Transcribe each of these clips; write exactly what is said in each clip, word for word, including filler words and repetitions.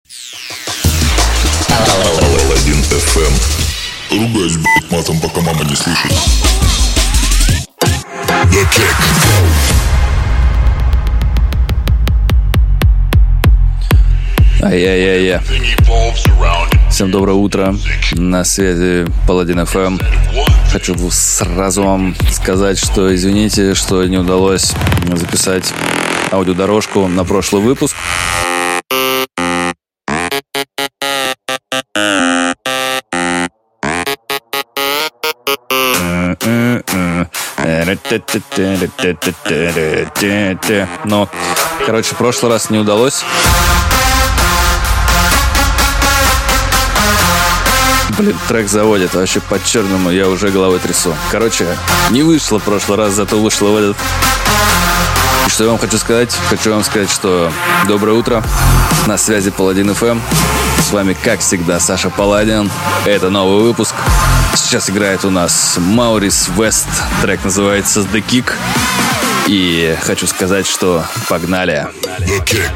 Паладин эф эм. Ругаюсь, блядь, матом, пока мама не слышит. The Kick. Ай-яй-яй-яй. Всем доброе утро. На связи Паладин эф эм. Хочу сразу вам сказать, что извините, что не удалось записать аудиодорожку на прошлый выпуск. Но, короче, в прошлый раз не удалось. Блин, трек заводит, вообще по-черному, я уже головой трясу. Короче, не вышло в прошлый раз, зато вышло в этот. И что я вам хочу сказать? Хочу вам сказать, что доброе утро. На связи Паладин эф эм. С вами, как всегда, Саша Паладин. Это новый выпуск. Сейчас играет у нас Maurice West. Трек называется The Kick. И хочу сказать, что погнали. The Kick.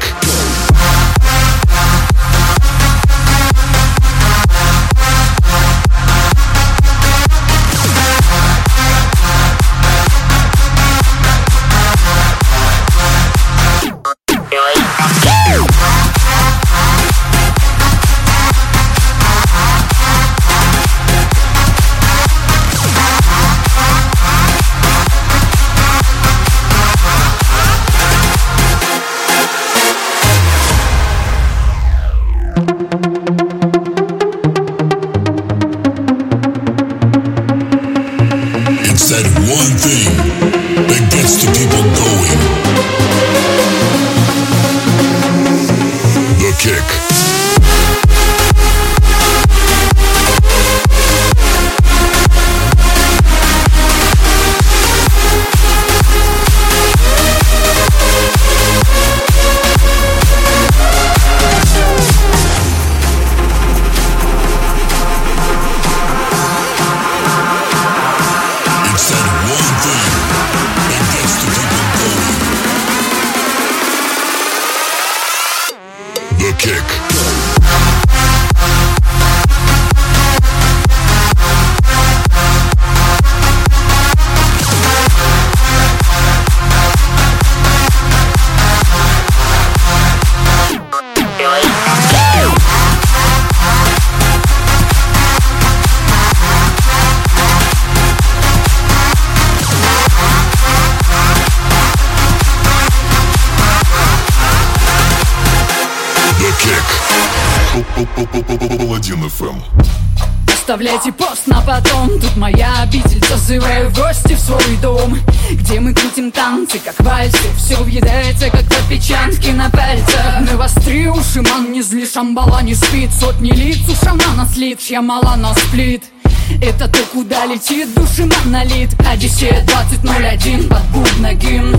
Паладин эф эм. Оставляйте пост на потом. Тут моя обитель, зазываю в гости в свой дом, где мы крутим танцы, как вальсы. Все въедается, как отпечатки на пальцах. Навостри уши, ман, не зли, шамбала не спит. Сотни лиц у шамана слит, чья мала на сплит. Это то, куда летит души монолит. Одиссея двадцать ноль один под бубна гимн.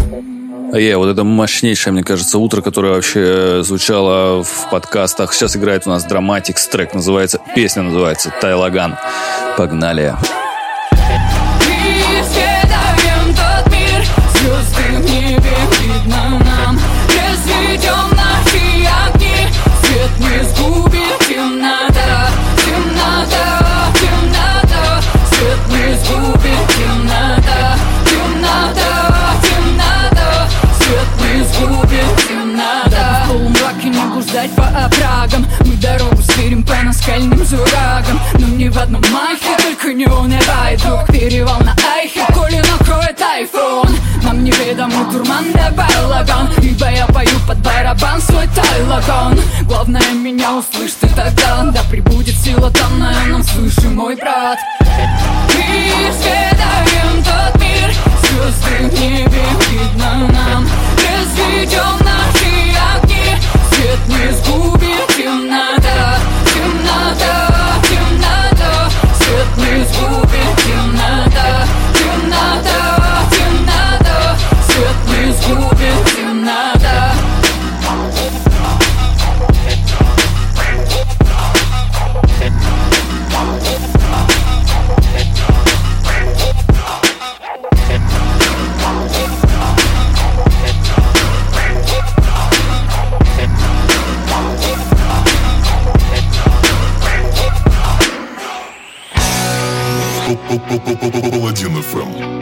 Е, вот это мощнейшее, мне кажется, утро, которое вообще звучало в подкастах. Сейчас играет у нас Dramatics, трек называется, песня называется «Тайлаган». Погнали. Исследуем тот мир, звезды в небе видно нам. Разведем наши огни, свет не сгубит темнота. Темнота, темнота, свет не сгубит темнота. Темнота, темнота, свет не сгубит темнота. В полумраке не блуждать по оврагам. Мы дорогу сверим по наскальным зурагам. Но не в одном махе, только не унывай, друг. Перевал на Айхе, коли накроет айфон. Нам неведомый дурман да балаган, ибо я пою под барабан свой тайлаган. Главное, меня услышь ты тогда. Да прибудет сила данная нам свыше, мой брат. Мы исследуем тот мир, звезды в небе видно нам. Разведем наши огни, свет не сгубит темнота. Темнота, темнота, свет не сгубит темнота. Темнота, темнота, свет не сгубит темнота. Паладин эф эм.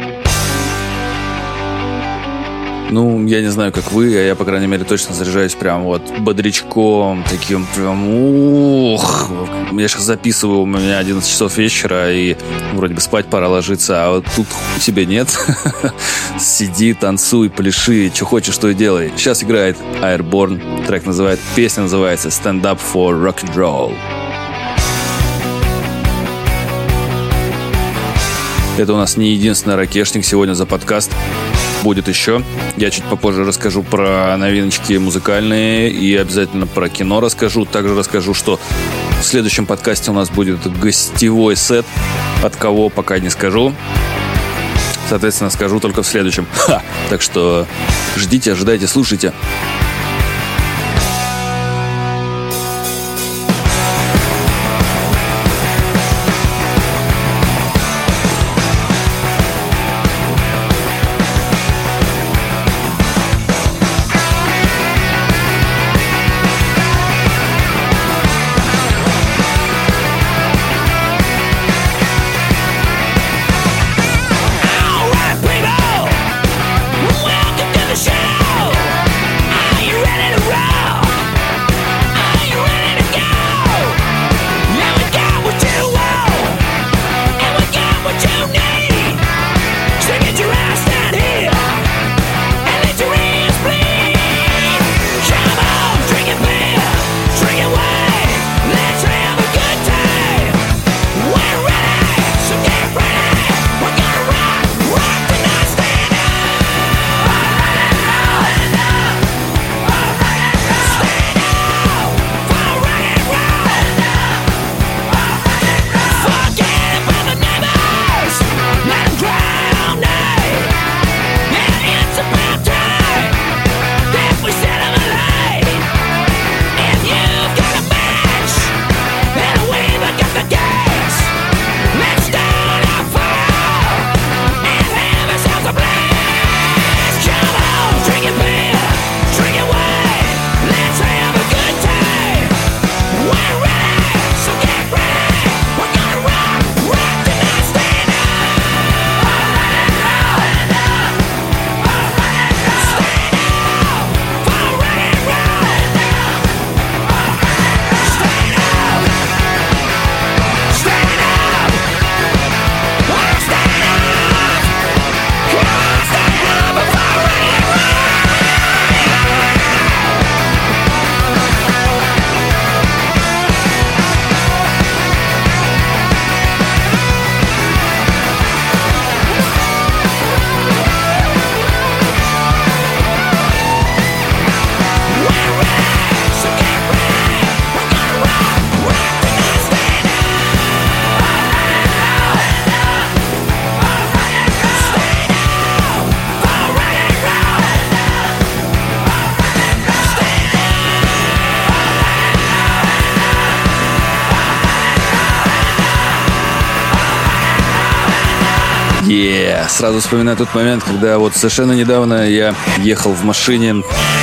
Ну, я не знаю, как вы, а я, по крайней мере, точно заряжаюсь прям вот бодрячком, таким прям ух. Я сейчас записываю, у меня одиннадцать часов вечера, и вроде бы спать пора ложиться, а вот тут тебе нет. Сиди, танцуй, пляши, что хочешь, то и делай. Сейчас играет Airborne, трек называется, песня называется Stand Up for Rock and Roll. Это у нас не единственный ракешник сегодня за подкаст. Будет еще. Я чуть попозже расскажу про новиночки музыкальные и обязательно про кино расскажу. Также расскажу, что в следующем подкасте у нас будет гостевой сет. От кого, пока не скажу. Соответственно, скажу только в следующем. Ха! Так что ждите, ожидайте, слушайте. Yeah. Сразу вспоминаю тот момент, когда вот совершенно недавно я ехал в машине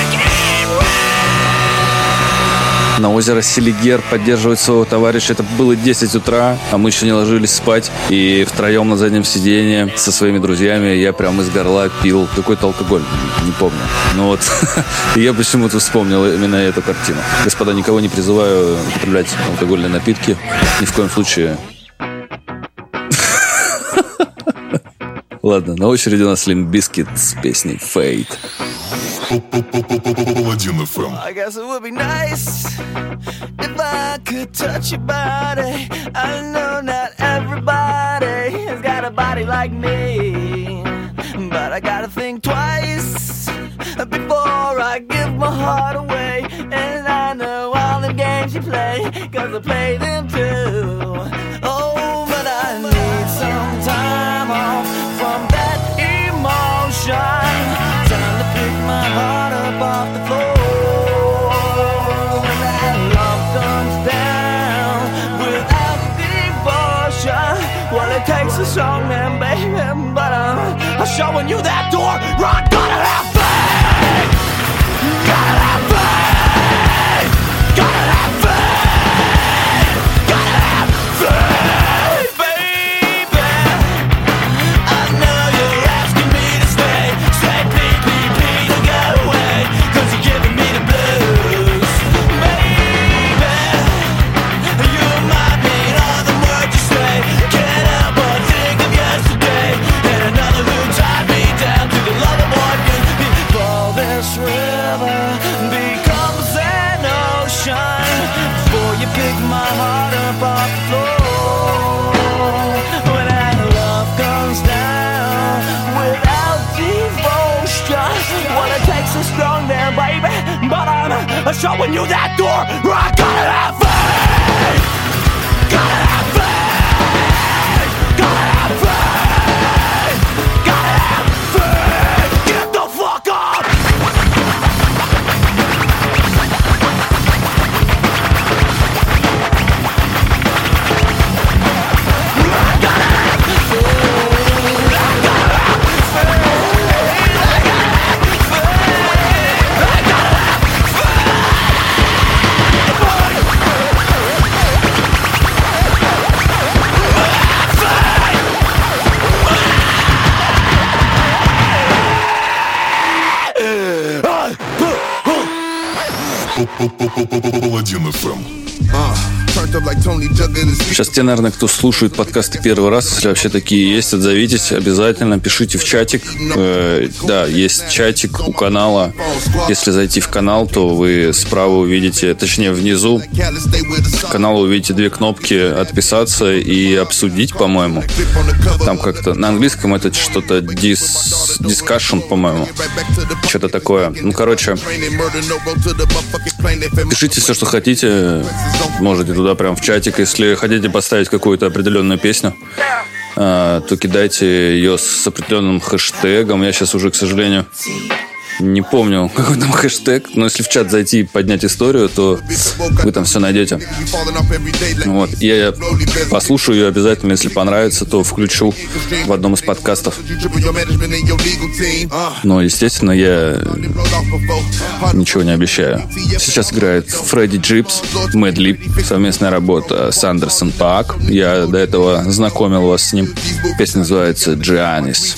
на озеро Селигер поддерживать своего товарища. Это было десять утра, а мы еще не ложились спать. И втроем на заднем сиденье со своими друзьями я прям из горла пил какой-то алкоголь. Не помню. Ну вот, я почему-то вспомнил именно эту картину. Господа, никого не призываю употреблять алкогольные напитки. Ни в коем случае. Ладно, на очереди у нас Limp Bizkit с песней Fade. Паладин эф эм. I guess it would be nice if I could touch your body. I know not everybody has got a body like me, but I gotta think twice before I give my heart away. And I know all the games you play, cause I play them too. Oh, but I need some time off from that emotion. Time to pick my heart up off the floor. When that love comes down without devotion, well, it takes a strong man, baby, but I'm, I'm showing you that door. Run, gotta have faith. Gotta have faith. Gotta have faith. Gotta have faith, baby. I'm showing you that door where I gotta have faith. Gotta have faith. Gotta have faith. Gotta have faith. Get the fuck up. Паладин эф эм. Сейчас те, наверное, кто слушает подкасты первый раз, если вообще такие есть, отзовитесь, обязательно пишите в чатик. Э, да, есть чатик у канала. Если зайти в канал, то вы справа увидите, точнее внизу канала увидите две кнопки «Отписаться» и «Обсудить», по-моему. Там как-то на английском это что-то дис, discussion, по-моему. Что-то такое. Ну, короче, пишите все, что хотите. Можете туда прям в чатик. Если хотите поставить какую-то определенную песню, то кидайте ее с определенным хэштегом. Я сейчас уже, к сожалению, не помню, какой там хэштег, но если в чат зайти и поднять историю, то вы там все найдете. Вот. Я послушаю ее обязательно, если понравится, то включу в одном из подкастов. Но, естественно, я ничего не обещаю. Сейчас играет Фредди Джипс, Mad Lib, совместная работа с Андерсон Паак. Я до этого знакомил вас с ним. Песня называется «Giannis».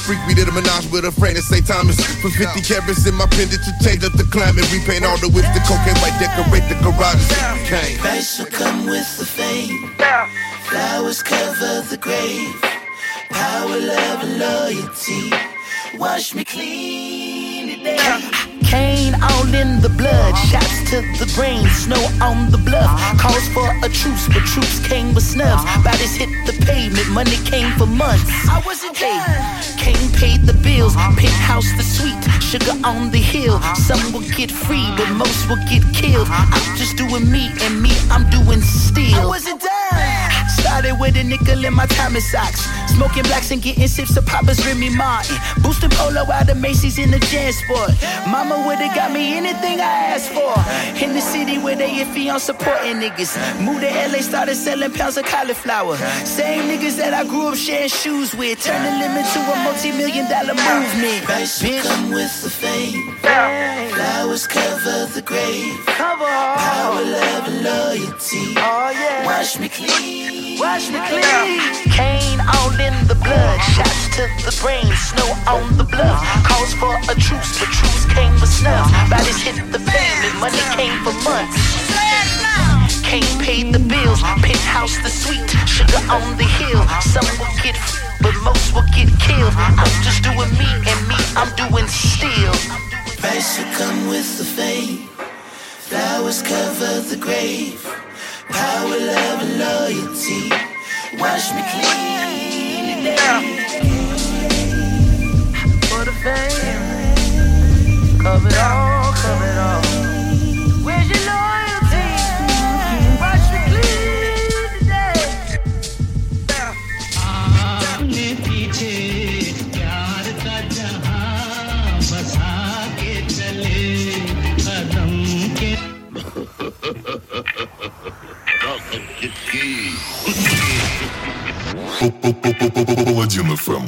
In my pendant to change up the climate, repaint all the whips, the cocaine white, decorate the garages. Vice will come with the fame. Flowers cover the grave. Power, love, and loyalty. Wash me clean today. Cane all in the blood, shots to the brain, snow on the bluff. Calls for a truce, but troops came with snubs. Bodies hit the pavement, money came for months. I wasn't done. Kane paid the bills, penthouse the suite, sugar on the hill. Some will get free, but most will get killed. I'm just doing me, and me I'm doing still. I wasn't done. Started with a nickel in my Thomas socks, smoking blacks and getting sips of Papa's Remy Martin, boosting polo out of Macy's in the JanSport. Mama would've got me anything I asked for. In the city where they iffy on supporting niggas. Moved to L A, started selling pounds of cauliflower. Same niggas that I grew up sharing shoes with, turned the limit to a multi-million dollar movement. Vice will come with the fame. Flowers cover the grave. Power, love, and loyalty. Wash me clean. Wash me clean. Cane all in the blood, shots to the brain, snow on the bluff. Calls for a truce, but truce came with snubs. Bodies hit the pavement, money came for months. Kane paid the bills, penthouse the suite, sugar on the hill. Some will get free, but most will get killed. I'm just doing me, and me I'm doing still. Vice will come with the fame. Flowers cover the grave. Power, love, and loyalty. Wash me clean today. For the fame. Cover it all, cover it all. Where's your loyalty? Wash me clean today. आपने पीछे प्यार का जहां बसा के चले कदम के Паладин эф эм.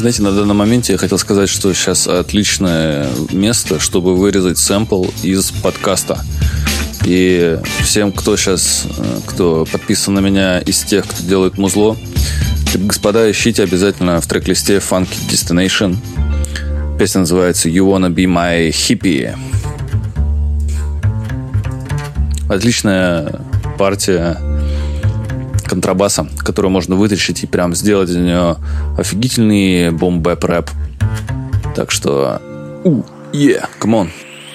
Знаете, на данном моменте я хотел сказать, что сейчас отличное место, чтобы вырезать сэмпл из подкаста. И всем, кто сейчас, кто подписан на меня из тех, кто делает музло, господа, ищите обязательно в трек-листе Funky Destination. Песня называется You Wanna Be My Hippie. Отличная партия контрабаса, которую можно вытащить и прям сделать из нее офигительный бум-бэп-рэп. Так что у, yeah, come on.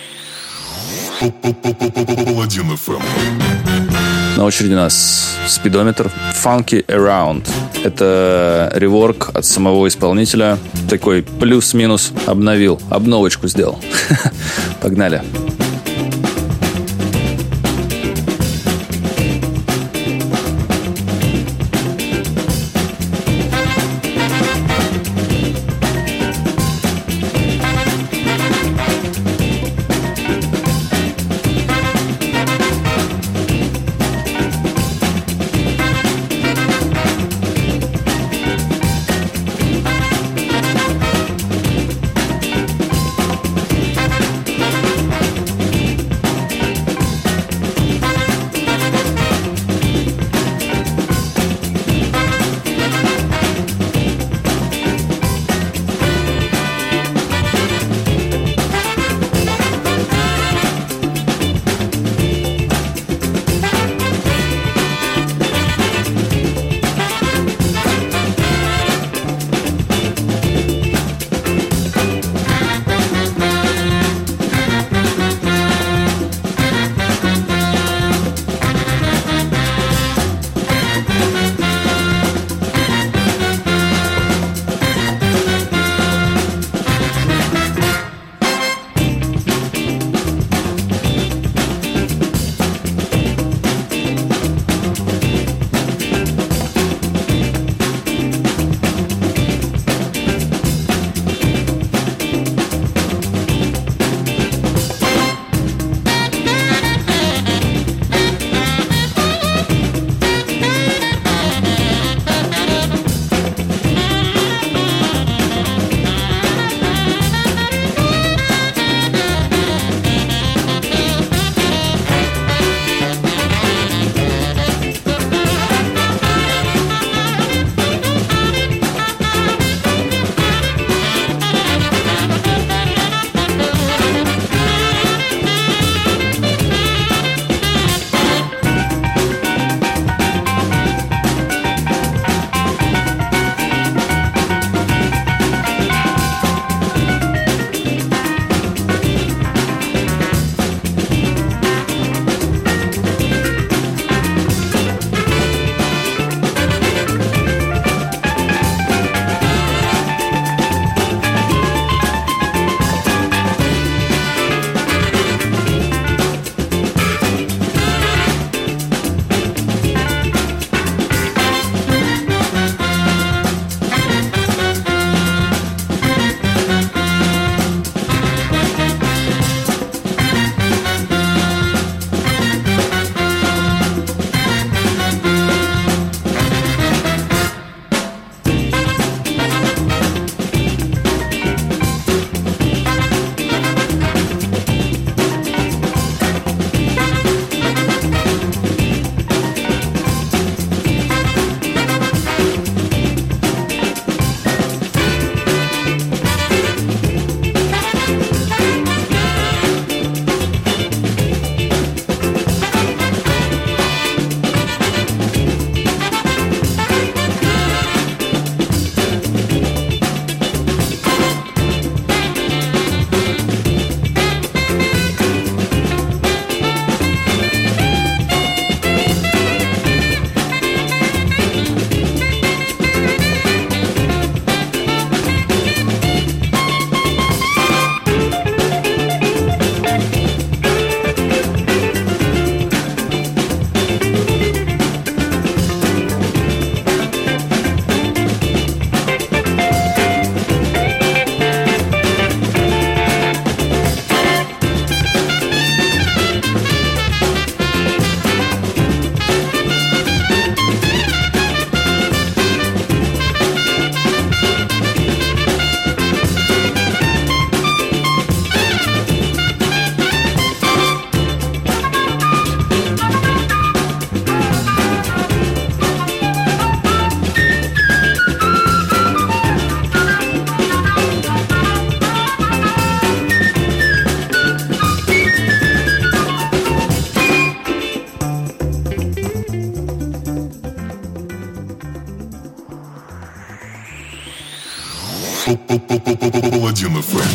Паладин эф эм. На очереди у нас спидометр Funky Around. Это реворк от самого исполнителя. Такой плюс-минус обновил, обновочку сделал. Погнали. Паладин эф эм.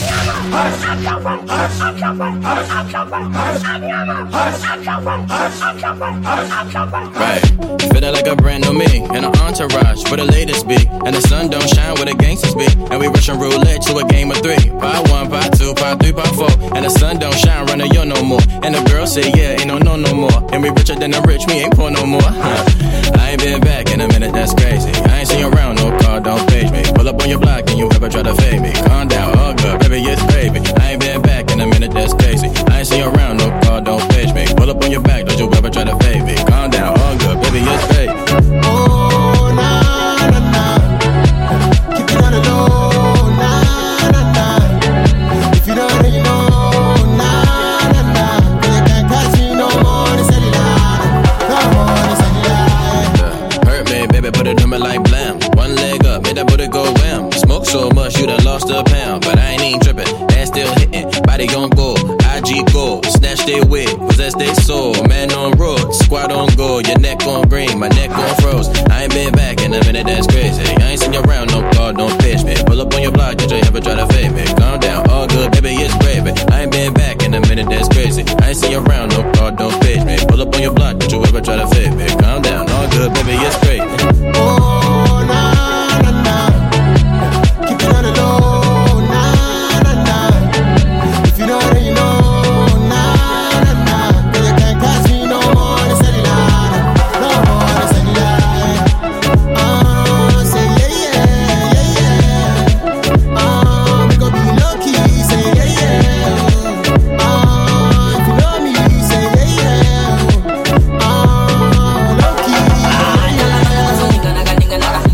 Right, feeling like a brand new me in an entourage where the latest be, and the sun don't shine where the gangsters be, and we rushing roulette to a game of three. Pot one, pot two, pot three, pot four, and the sun don't shine running yo no more. And the girl say yeah, ain't no no no more, and we richer than the rich, me ain't poor no more. Huh. I ain't been back in a minute, that's crazy. I ain't seen you around, no car, don't page me. Pull up on your block and you ever try to fade me. Calm down, all good, baby, it's gravy. I ain't been back in a minute, that's crazy. I ain't seen you around, no car, don't page me. Pull up on your back, don't you ever try to fade me. Calm down, all good, baby, it's gravy. Oh, na, na, na. Keep it on the low, na, na, na. If you don't already know, na, na, na. Cause you can't catch me no more, it's a lie. No more, it's a lie. Hurt me, baby, put it on me like blam. One leg up, made that booty go wham. Smoke so much, you done lost a pound. But I ain't even tripping, ass still hitting. Body gon' go, I G go. Snatch they wig, possess they soul. Man on road, squad on go. Your neck on green, my neck on froze. I ain't been back in a minute, that's crazy. I ain't seen you around, no car, don't pitch me. Pull up on your block, did you ever try to fade me? Calm down, all good, baby, it's gravy. I ain't been back in a minute, that's crazy. I ain't seen you around, no car, don't pitch me. Pull up on your block, did you ever try to fade me? Calm down, all good, baby, it's crazy. Oh, na, na, na. Keep it on the low, na, na, na. If you don't already know, na, na, na. Cause you can't catch me no more, it's a lie. No more, it's a lie. Oh, say yeah, yeah, yeah, yeah. Oh, we gon' be lucky, say yeah, yeah. Oh, if you know me, say yeah, yeah. Oh, lucky, yeah, yeah.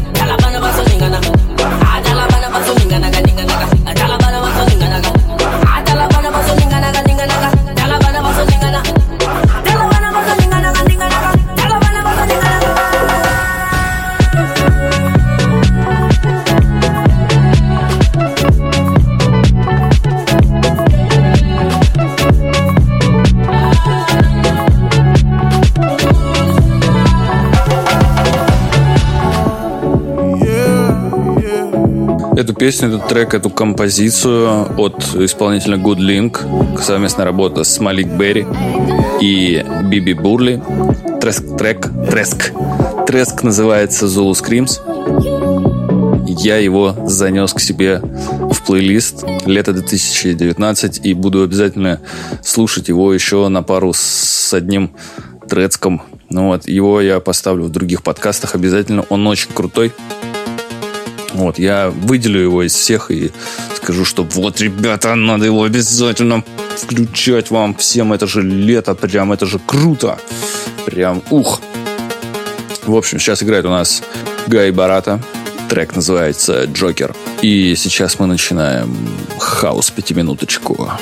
Эту песню, этот трек, эту композицию от исполнителя Good Link, совместная работа с Малик Берри и Биби Бурли. Треск, трек, треск. Треск называется Zulu Screams. Я его занес к себе в плейлист лето две тысячи девятнадцать и буду обязательно слушать его еще на пару с одним трецком. Ну вот, его я поставлю в других подкастах обязательно. Он очень крутой. Вот, я выделю его из всех и скажу, что вот, ребята, надо его обязательно включать вам всем. Это же лето, прям, это же круто. Прям, ух. В общем, сейчас играет у нас Гай Барата. Трек называется «Джокер». И сейчас мы начинаем хаус пятиминуточку.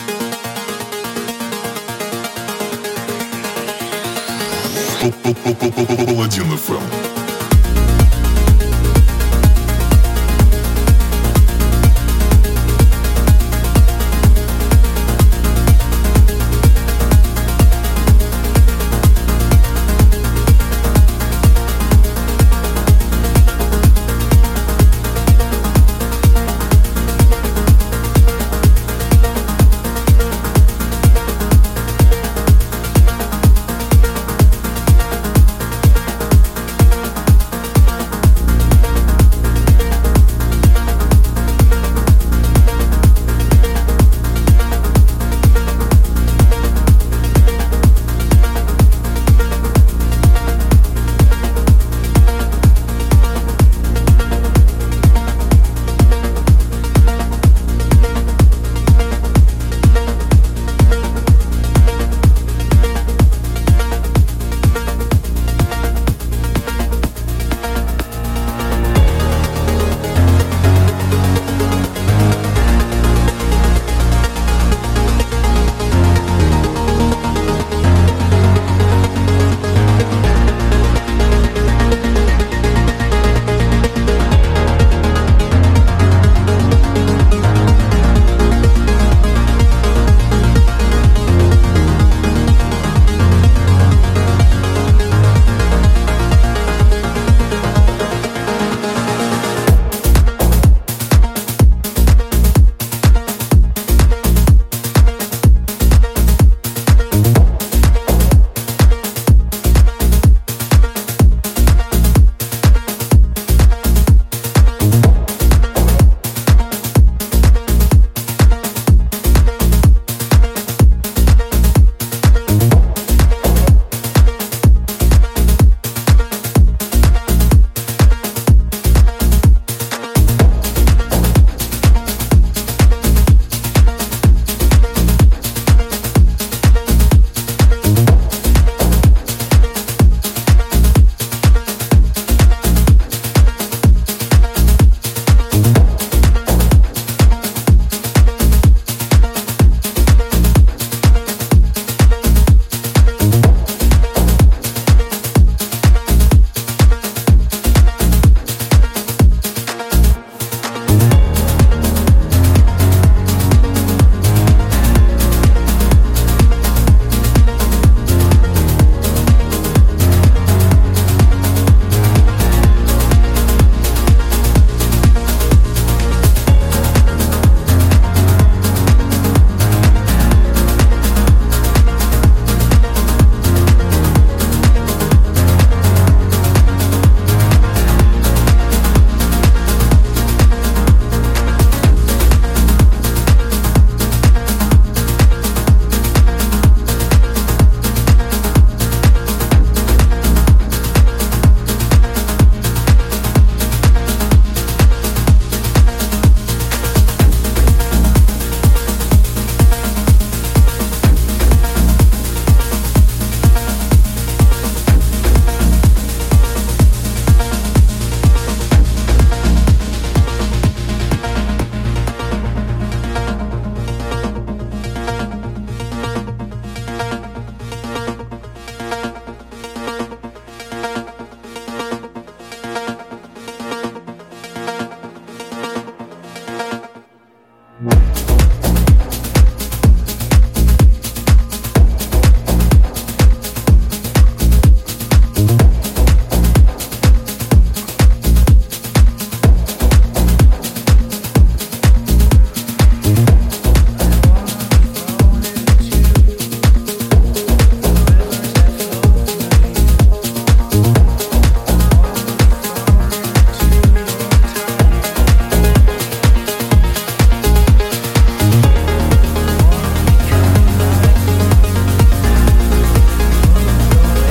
Паладин эф эм.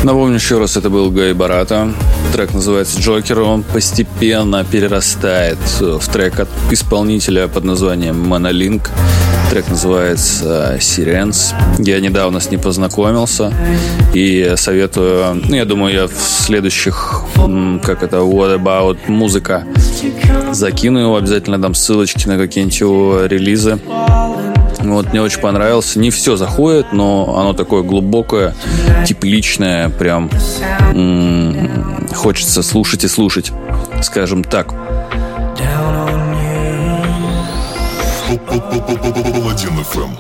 Напомню еще раз, это был Гай Барата. Трек называется «Джокер». Он постепенно перерастает в трек от исполнителя под названием Monolink. Трек называется «Sirens». Я недавно с ним познакомился и советую... Ну, я думаю, я в следующих, как это, What About музыка, закину его, обязательно дам ссылочки на какие-нибудь его релизы. Вот, мне очень понравился. Не все заходит, но оно такое глубокое, тепличное, прям м-м, хочется слушать и слушать, скажем так. Паладин эф эм.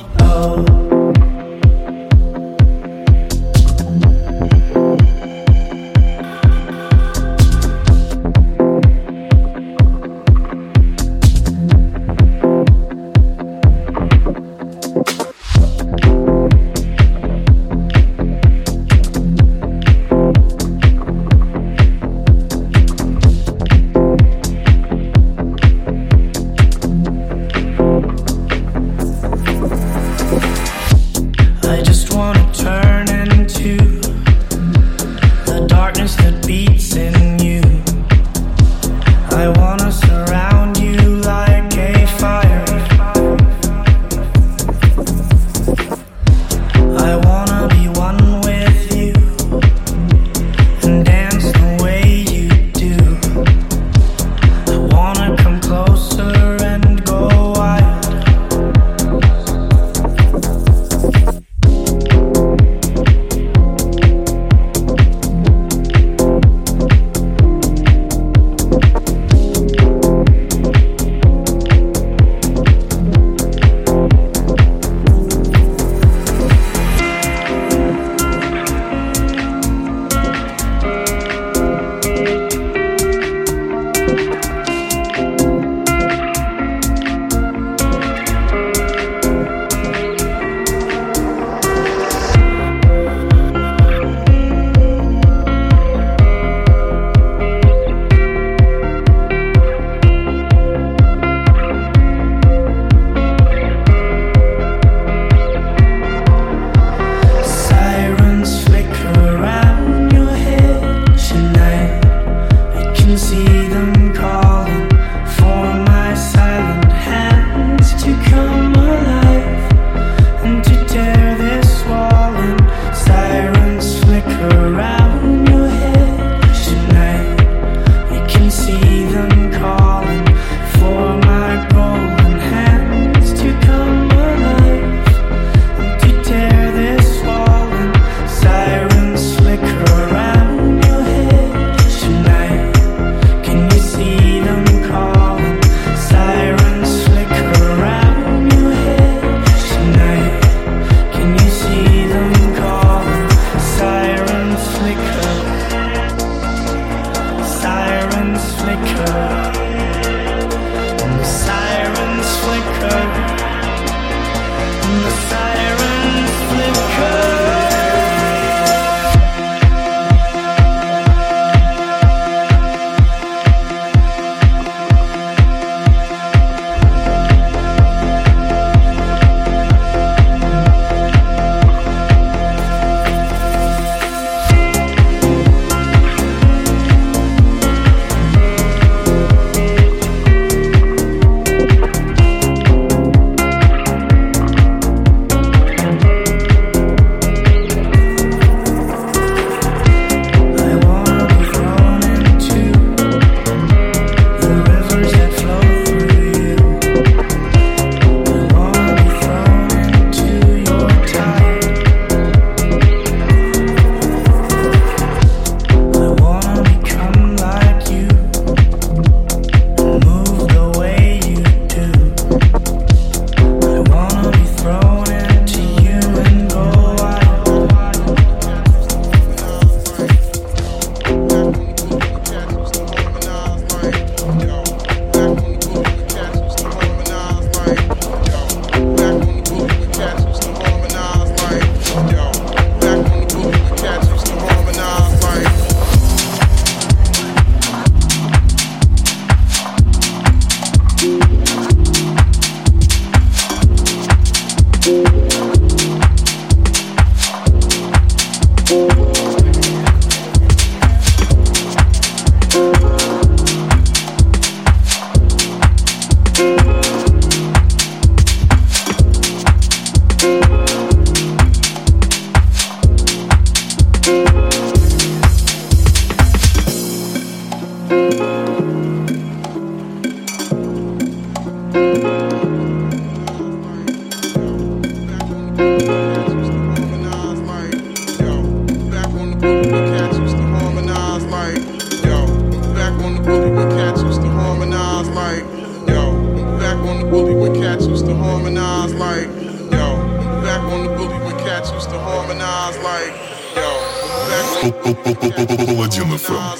Паладин эф эм.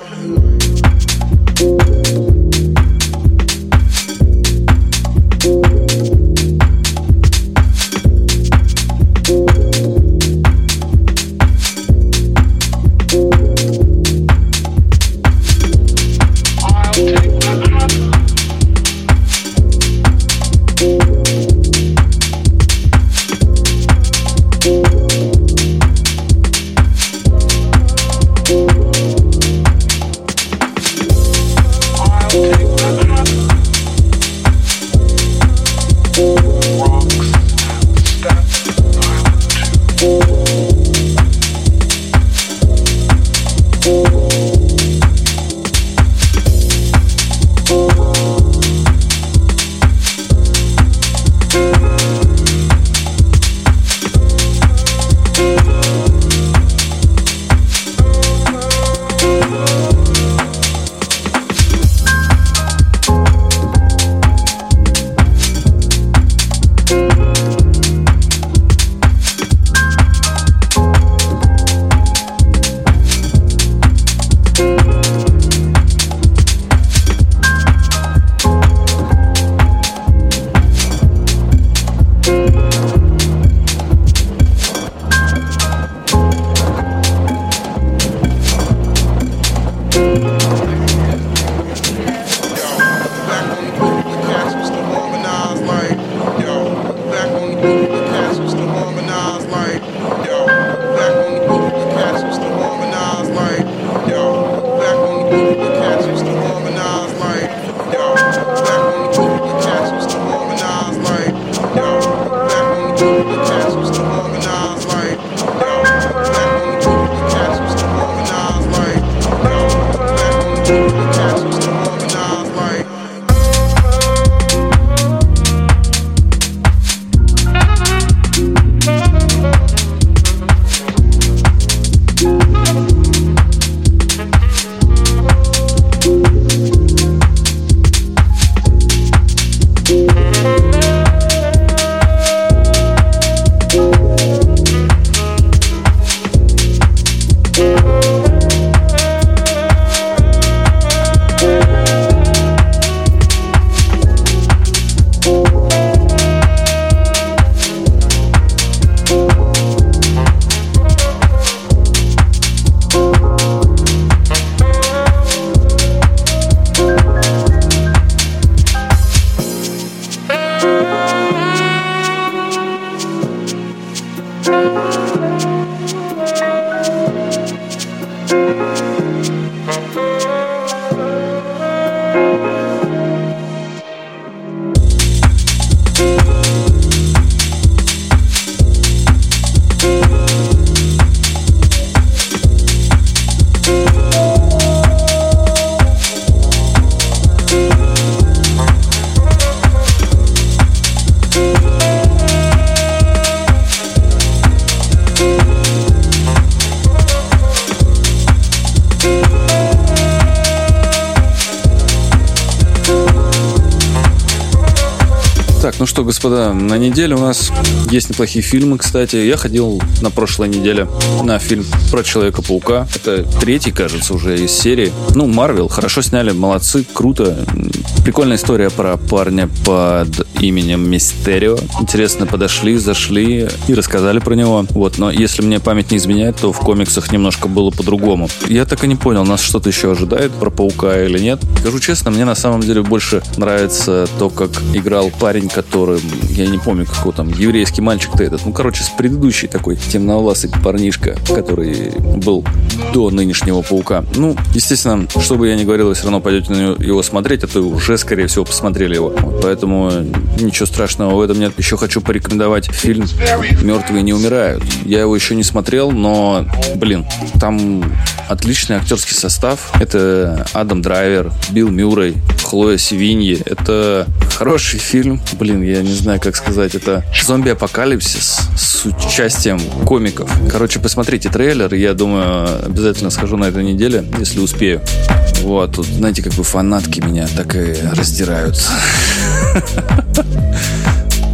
Так, ну что, господа, на неделе у нас есть неплохие фильмы, кстати. Я ходил на прошлой неделе на фильм про Человека-паука. Это третий, кажется, уже из серии. Ну, Марвел, хорошо сняли, молодцы, круто. Прикольная история про парня под именем Мистерио. Интересно подошли, зашли и рассказали про него. Вот, но если мне память не изменяет, то в комиксах немножко было по-другому. Я так и не понял, нас что-то еще ожидает про Паука или нет. Скажу честно, мне на самом деле больше нравится то, как играл парень, которым, я не помню, какой там, еврейский мальчик-то этот. Ну, короче, с предыдущий такой темновласый парнишка, который был до нынешнего Паука. Ну, естественно, что бы я ни говорил, вы все равно пойдете на его смотреть, а то уже, скорее всего, посмотрели его. Вот, поэтому ничего страшного в этом нет. Еще хочу порекомендовать фильм «Мертвые не умирают». Я его еще не смотрел, но, блин, там отличный актерский состав. Это Адам Драйвер, Билл Мюррей, Хлоя Севиньи. Это хороший фильм. Блин, я не знаю, как сказать. Это зомби-апокалипсис с участием комиков. Короче, посмотрите трейлер. Я думаю, обязательно схожу на этой неделе, если успею. Вот, тут, знаете, как бы фанатки меня так и раздирают.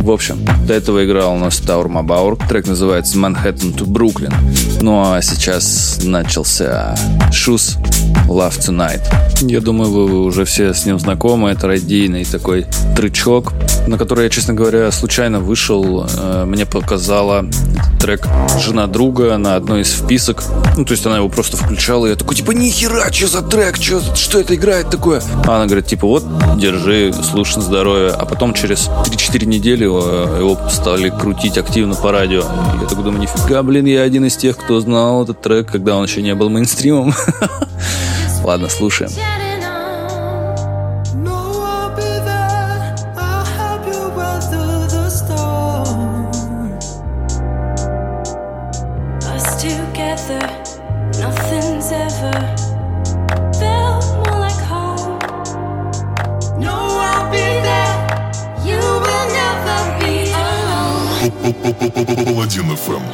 В общем, до этого играл у нас Таур Мабаур. Трек называется Manhattan to Brooklyn. Ну а сейчас начался Shoes Love Tonight. Я думаю, вы уже все с ним знакомы. Это радийный такой тречок, на который я, честно говоря, случайно вышел. Мне показала трек жена друга на одной из вписок. Ну, то есть она его просто включала, и я такой, типа, нихера, что за трек, что, что это играет такое? А она говорит, типа, вот, держи, слушай на здоровье. А потом через три-четыре недели его стали крутить активно по радио. И я такой думаю, нифига, блин, я один из тех, кто знал этот трек, когда он еще не был мейнстримом. Ладно, слушаем. Паладин эф эм.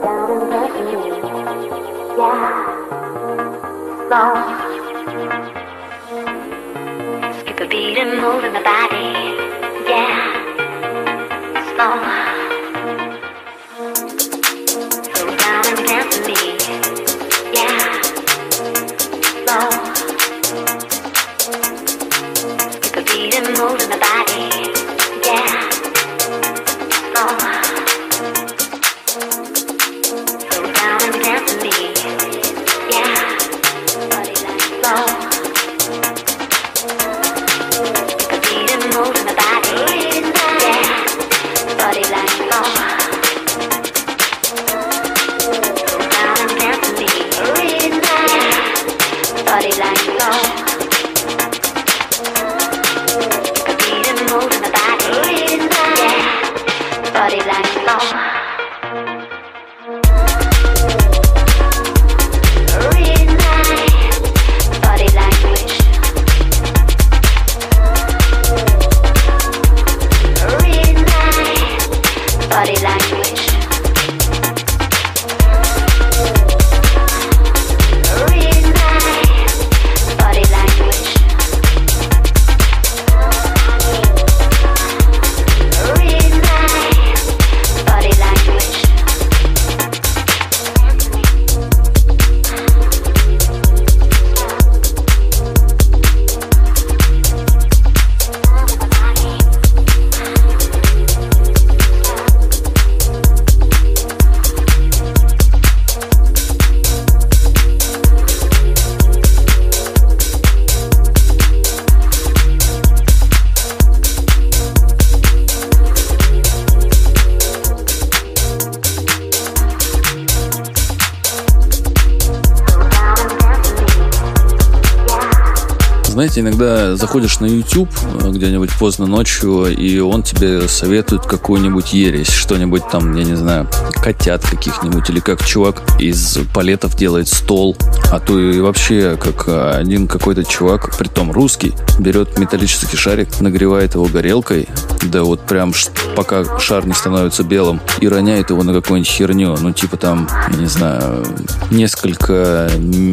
Знаете, иногда заходишь на YouTube где-нибудь поздно ночью, и он тебе советует какую-нибудь ересь, что-нибудь там, я не знаю, котят каких-нибудь, или как чувак из палетов делает стол, а то и вообще как один какой-то чувак, притом русский, берет металлический шарик, нагревает его горелкой, да вот прям пока шар не становится белым, и роняет его на какую-нибудь херню, ну типа там, я не знаю, несколько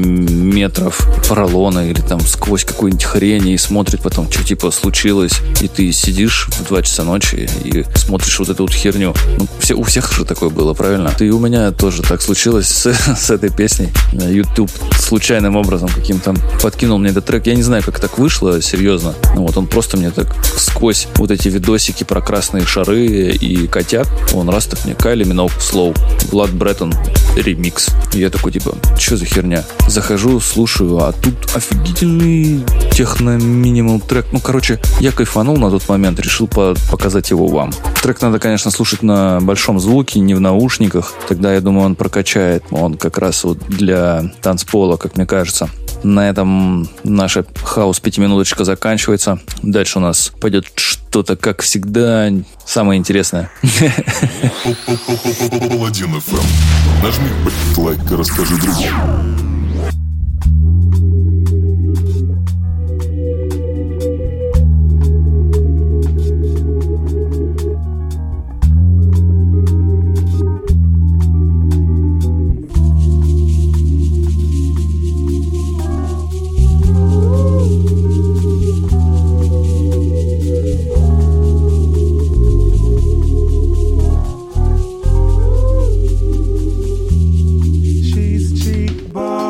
метров поролона или там сквозь какую-нибудь хрень, и смотрит потом, что типа случилось, и ты сидишь в два часа ночи и смотришь вот эту вот херню. Ну, все, у всех же такое было, правильно? И у меня тоже так случилось с, с этой песней. YouTube случайным образом каким-то подкинул мне этот трек. Я не знаю, как так вышло, серьезно. Ну вот он просто мне так сквозь вот эти видосики про красные шары и котят, он раз так мне Кайли Миноуг Slow, Влад Бреттон ремикс. И я такой типа, что за херня? Захожу, слушаю, а тут офигительный техно-минимал трек. Ну, короче, я кайфанул на тот момент, решил по- показать его вам. Трек надо, конечно, слушать на большом звуке, не в наушниках. Тогда, я думаю, он прокачает. Он как раз вот для танцпола, как мне кажется. На этом наша хаус-пятиминуточка заканчивается. Дальше у нас пойдет что-то, как всегда, самое интересное. Паладин эф эм. Нажми лайк и расскажи другим. She's cheap, boy.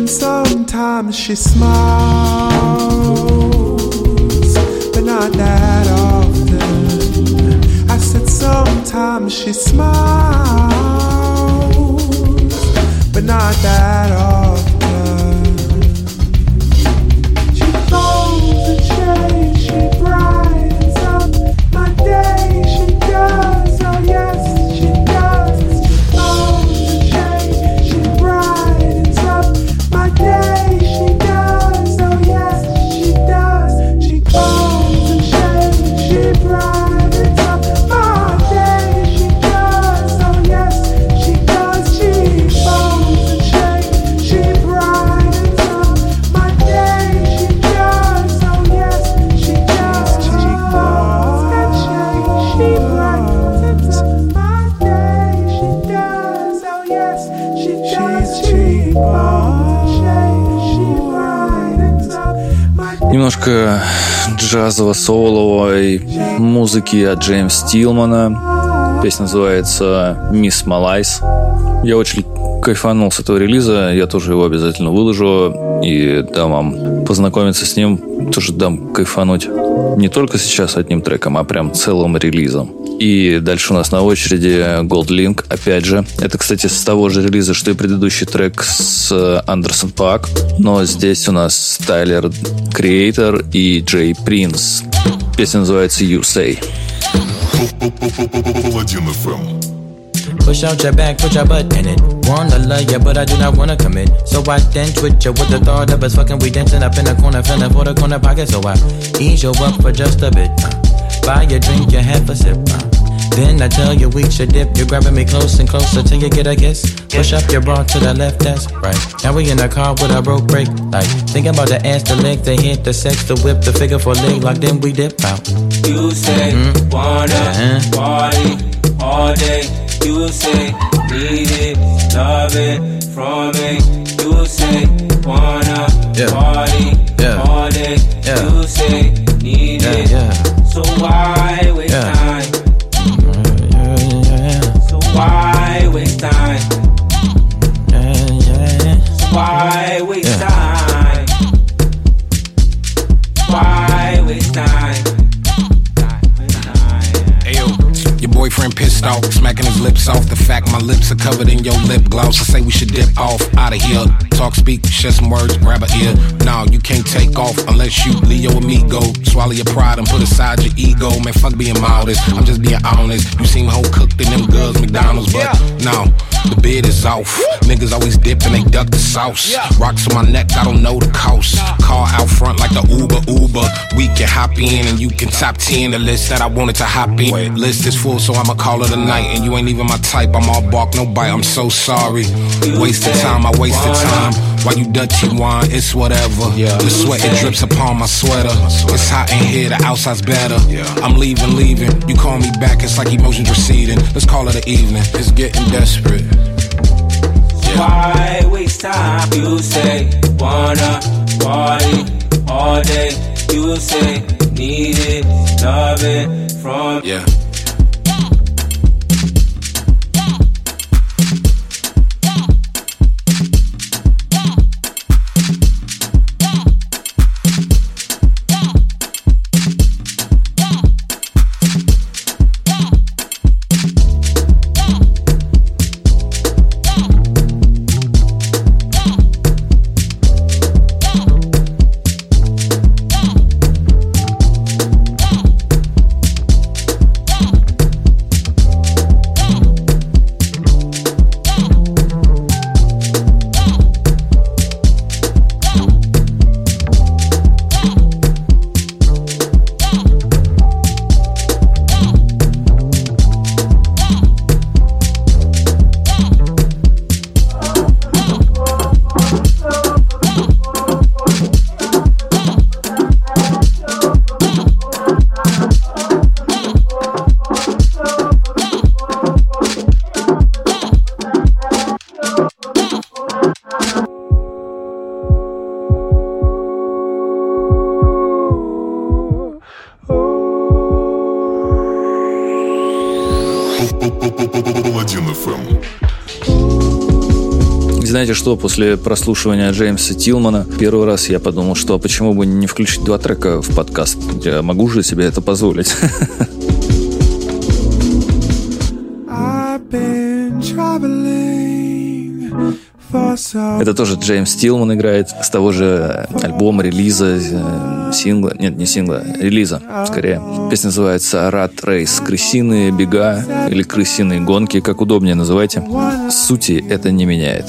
And sometimes she smiles, but not that often. I said sometimes she smiles, but not that often. She folds and shades, she brightens up my day. She does, oh yes, she does. She folds and shades, she brightens up my day. She does, oh yes, she does. She folds and shades, she brightens up my day. She does, oh yes, she does. She folds and shades, she brightens up my day. She does, oh yes, she does. She folds and shades, she brightens up my day. She does, oh yes, she does. She folds and shades, she brightens up my day. Немножко джазово-соловой музыки от Джеймса Тилмана. Песня называется «Miss Malais». Я очень кайфанул с этого релиза. Я тоже его обязательно выложу и дам вам познакомиться с ним. Тоже дам кайфануть не только сейчас одним треком, а прям целым релизом. И дальше у нас на очереди Gold Link, опять же. Это, кстати, с того же релиза, что и предыдущий трек с Андерсон Пак. Но здесь у нас Тайлер Креатор и Джей Принс. Песня называется You Say. Паладин эф эм. Push out your back, put your butt in it. Wanna love ya, but I do not wanna commit. So I dance with ya with the thought of us fucking. We dancing up in the corner, feeling for the corner pocket. So I ease you up for just a bit. Uh, buy a drink, you have a sip. Uh, then I tell you we should dip. You're grabbing me close and closer till you get a kiss. Push up your bra to the left, that's right. Now we in the car with a broke brake light. Thinking about the ass, the leg, the hit, the sex, the whip, the figure for leg lock. Then we dip out. You say mm-hmm. wanna uh-huh. party all day. You say need it, love it from me. You say wanna yeah. party yeah. all day. Yeah. You say need yeah, it, yeah. so why waste yeah. time? Yeah, yeah. So why waste time? Yeah, yeah. So why waste yeah. time? Why waste time? Your boyfriend pissed off, smacking his lips off. The fact my lips are covered in your lip gloss. I say we should dip off, out of here. Talk, speak, share some words, grab a ear. No, you can't take off unless you Leo amigo. Swallow your pride and put aside your ego. Man, fuck being modest, I'm just being honest. You seem whole cooked in them girls McDonald's, but no, the bid is off. Niggas always dip and they duck the sauce. Rocks on my neck, I don't know the cost. Car out front like the Uber Uber. We can hop in and you can top ten the list that I wanted to hop in. List is full, so I'ma call it a night. And you ain't even my type, I'm all bark, no bite. I'm so sorry. Wasted time, I wasted time. While you Dutchy wine, it's whatever. The sweat, it drips upon my sweater. It's hot in here, the outside's better. I'm leaving, leaving. You call me back, it's like emotions receding. Let's call it an evening, it's getting desperate. Why waste time? You say wanna party all day. You say need it, love it from yeah. знаете что, после прослушивания Джеймса Тилмана первый раз я подумал, что почему бы не включить два трека в подкаст? Я могу же себе это позволить. Это тоже Джеймс Тилман играет с того же альбома, релиза, сингла. Нет, не сингла, релиза, скорее. Песня называется «Rat Race». Крысиные бега или крысиные гонки, как удобнее называйте. Сути это не меняет.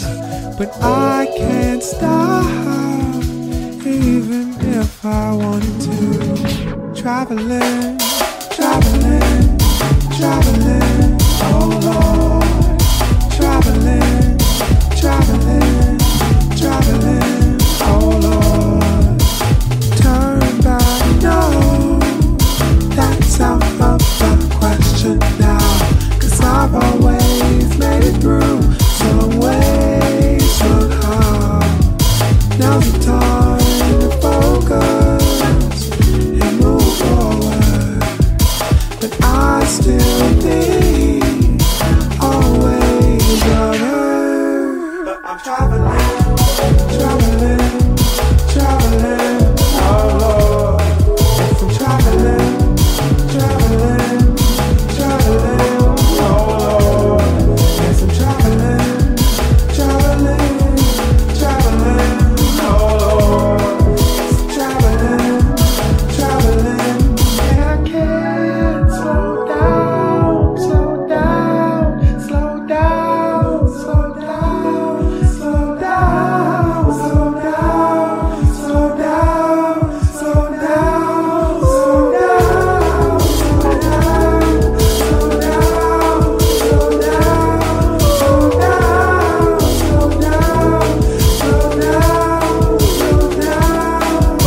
Traveling, traveling, oh Lord. Turn back, no, that's out of the question now. Cause I've always made it through some way, somehow. Now's the time to focus and move forward. But I still think always of her. I'm traveling, traveling, traveling, oh Lord. I'm traveling, traveling, traveling, oh Lord. Yes, I'm traveling, traveling, traveling, oh Lord. Yes, I'm traveling, traveling, and I can't slow down, slow down, slow down, slow down. Slow down, slow down, slow down, slow down, slow down, slow down, slow down, slow down, slow down, slow down, slow down, slow down.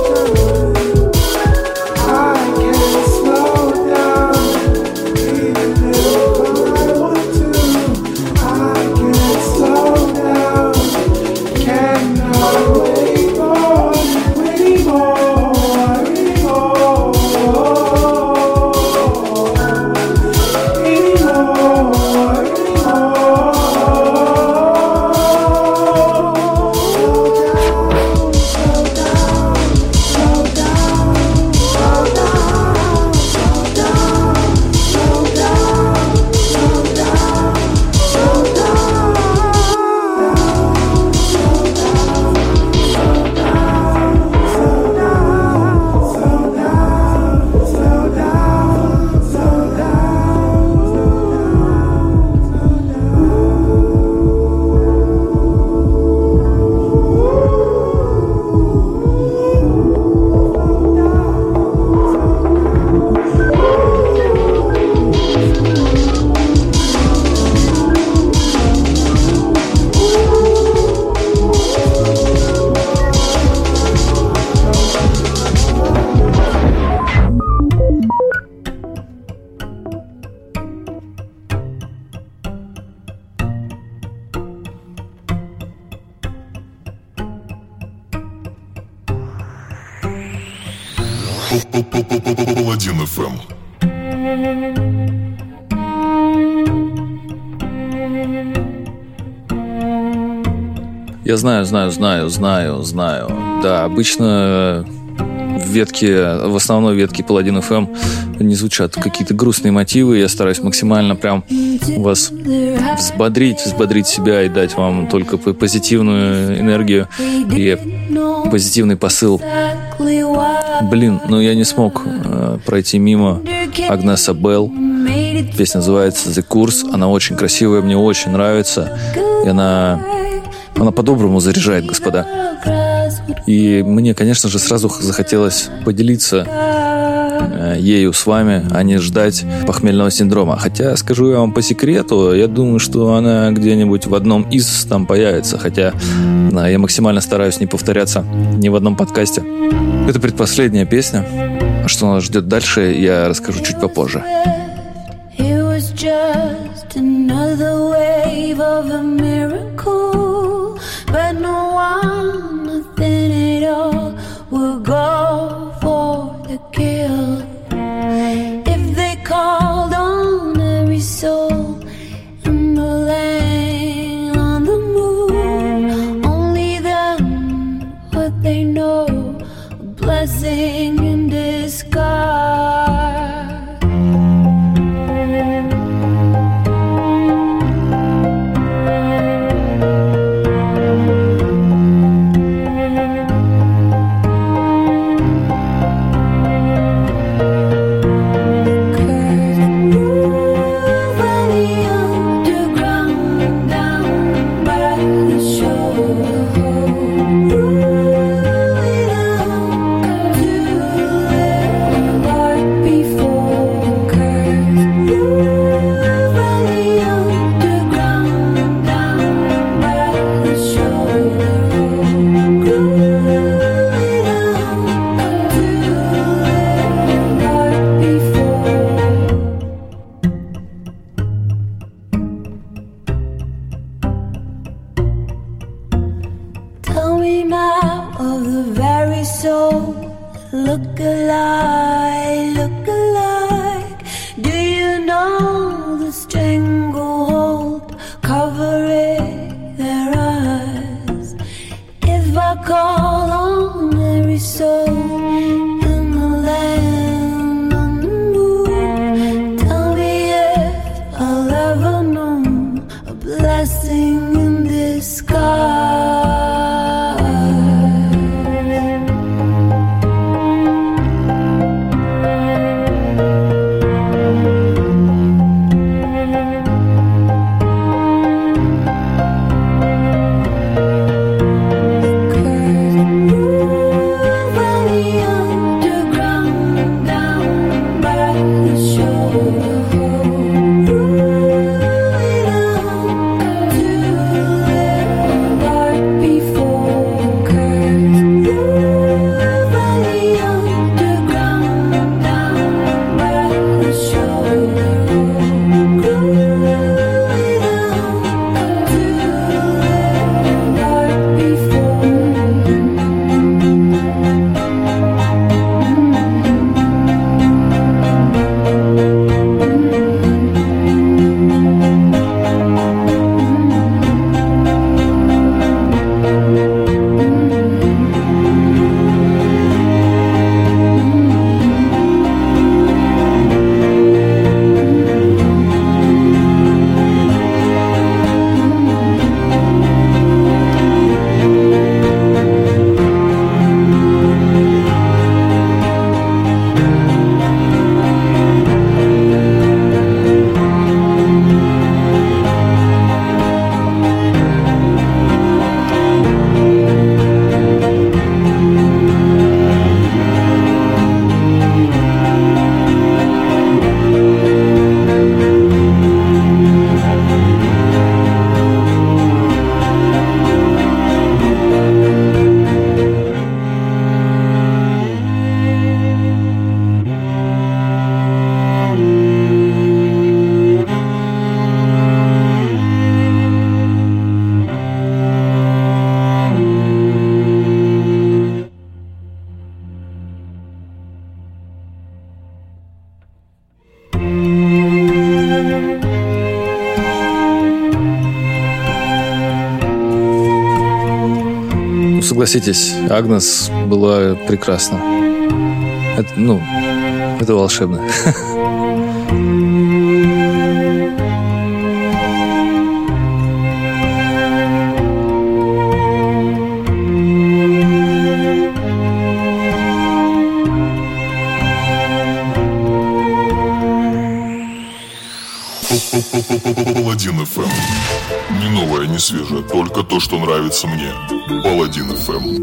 I can't slow down, even if I want to. I can't slow down. Cannot wait more, anymore, anymore, anymore, anymore. Slow down, slow down, slow down, slow down, slow down, slow down, slow down, slow Паладин эф эм. Я знаю, знаю, знаю, знаю, знаю. Да, обычно в ветке, в основной ветке Паладин эф эм не звучат какие-то грустные мотивы. Я стараюсь максимально прям вас взбодрить, взбодрить себя и дать вам только позитивную энергию и позитивный посыл. Блин, ну я не смог э, пройти мимо Агнеса Белл. Песня называется «The Course». Она очень красивая, мне очень нравится. И она, она по-доброму заряжает, господа. И мне, конечно же, сразу захотелось поделиться э, ею с вами, а не ждать похмельного синдрома. Хотя, скажу я вам по секрету, я думаю, что она где-нибудь в одном из там появится. Хотя да, я максимально стараюсь не повторяться ни в одном подкасте. Это предпоследняя песня. А что нас ждет дальше, я расскажу чуть попозже. Just another wave of a miracle, but no one, nothing at all will go for the kill. If they called on every soul in the land, on the moon, they know a blessing in disguise. Согласитесь, Агнес была прекрасна. Это, ну, это волшебно. Паладин эф эм. Не новое, не свежее, только то, что нравится мне. Паладин эф эм.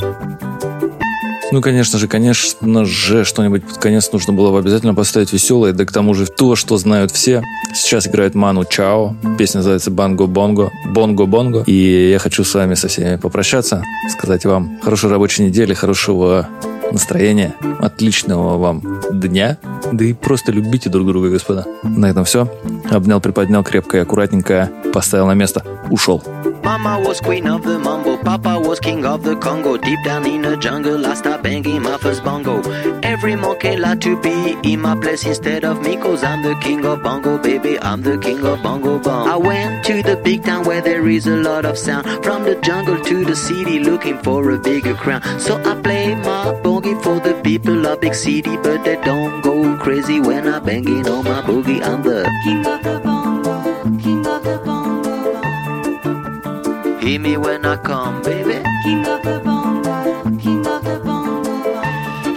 Ну, конечно же, конечно же, что-нибудь под конец нужно было бы обязательно поставить веселое, да к тому же то, что знают все. Сейчас играет Ману Чао, песня называется «Банго Бонго», «Бонго Бонго». И я хочу с вами со всеми попрощаться, сказать вам хорошей рабочей недели, хорошего настроения, отличного вам дня, да и просто любите друг друга, господа. На этом все. Обнял, приподнял крепко и аккуратненько, поставил на место, ушел. Mama was queen of the mambo Papa was king of the Congo. Deep down in the jungle, I started banging my first bongo. Every monkey like to be in my place instead of me, cause I'm the king of bongo, baby, I'm the king of bongo bong. I went to the big town where there is a lot of sound. From the jungle to the city, looking for a bigger crown. So I play my boogie for the people of big city, but they don't go crazy when I'm banging on my boogie. I'm the king of the bongo, king of the bongo bong. Hear me when I come, baby. King of the bongo, king of the bongo bong.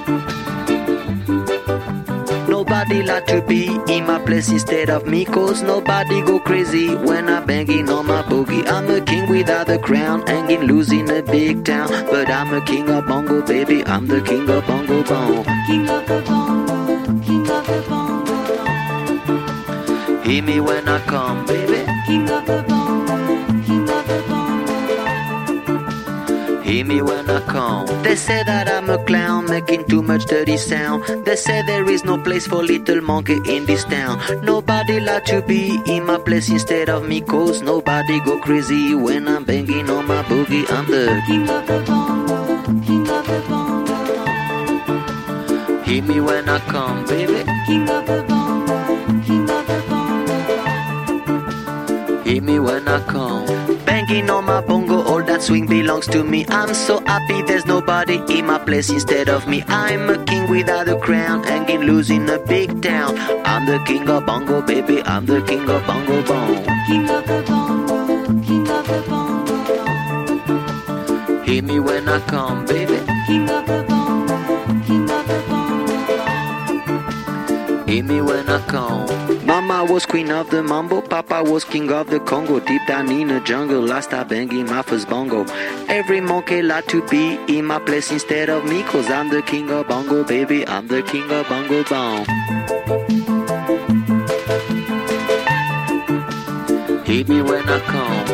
Nobody like to be in my place instead of me, cause nobody go crazy when I'm banging on my boogie. I'm a king without a crown, hanging loose in a big town, but I'm a king of bongo, baby, I'm the king of bongo bong. King of the bongo, king of the bongo bong. Hear me when I come, baby. King of the bongo, king of the bongo bong. Hear me when I come. They say that I'm a clown, making too much dirty sound. They say there is no place for little monkey in this town. Nobody like to be in my place instead of me, cause nobody go crazy when I'm banging on my boogie. I'm the king of the bongo, king of the bongo bong. Hear me when I come, baby. King of the bongo, king of the bongo bong. Hear me when I come. Banging on my bongo, all that swing belongs to me. I'm so happy there's nobody in my place instead of me. I'm a king without a crown, hanging loose in a big town. I'm the king of bongo, baby, I'm the king of bongo bong. King of the bongo, king of the bongo bong. Hear me when I come, baby. King of the bongo, king of the bongo bong. Hear me when I come. Mama was queen of the mambo, Papa was king of the Congo. Deep down in the jungle, I started banging my first bongo. Every monkey like to be in my place instead of me, cause I'm the king of bongo, baby, I'm the king of bongo bong. Hit me when I come.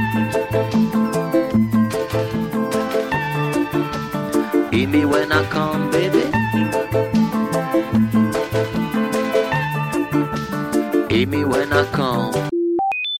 Hit me when I come, baby. Hit me when I come.